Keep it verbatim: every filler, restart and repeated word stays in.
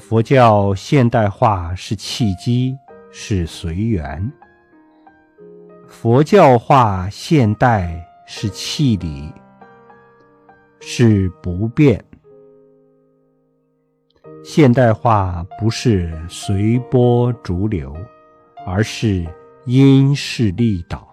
佛教现代化是契机，是随缘；佛教化现代是气理，是不变。现代化不是随波逐流，而是因势利导。